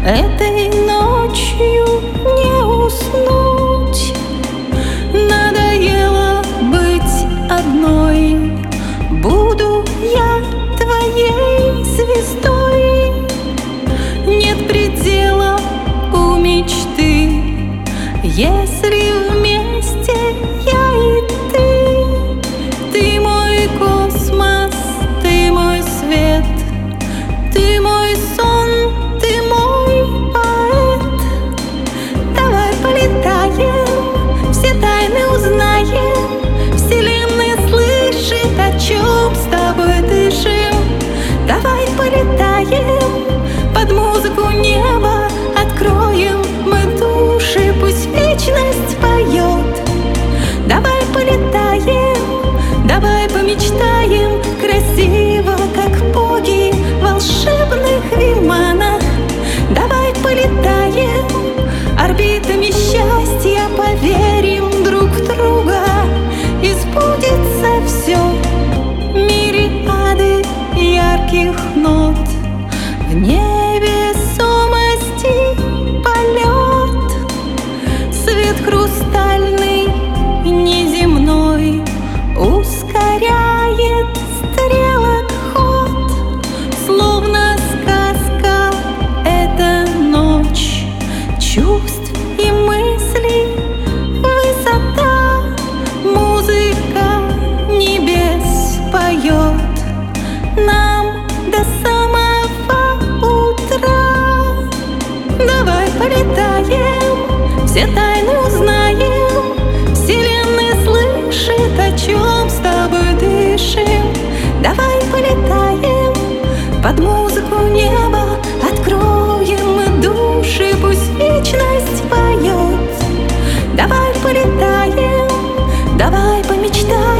Этой ночью не уснуть. Надоело быть одной. Буду я твоей звездой. Нет предела у мечты, если вместе я и ты. Ты мой космос, ты мой свет, ты мой сон, ты мой поэт. Давай полетаем, все тайны узнаем. Вселенная слышит, о чем с тобой дышим. Давай полетаем, под музыку неба откроем мы души, пусть вечность поет. Давай полетаем, давай помечтаем красиво, как боги в волшебных виманах. Давай полетаем, орбитами счастья поверим друг в друга, и сбудется все. Мириады ярких нот, в невесомости полет. Свет хрустальный, неземной, ускоряет стрелок ход. Словно сказка эта ночь чувств и мыслей высота. Музыка небес поет нам до самого утра. Давай полетаем, все тайны узнаем. Вселенная слышит, о чем с тобой дышим. Давай полетаем, под музыку неба откроем мы души, пусть вечность поет. Давай полетаем, давай помечтаем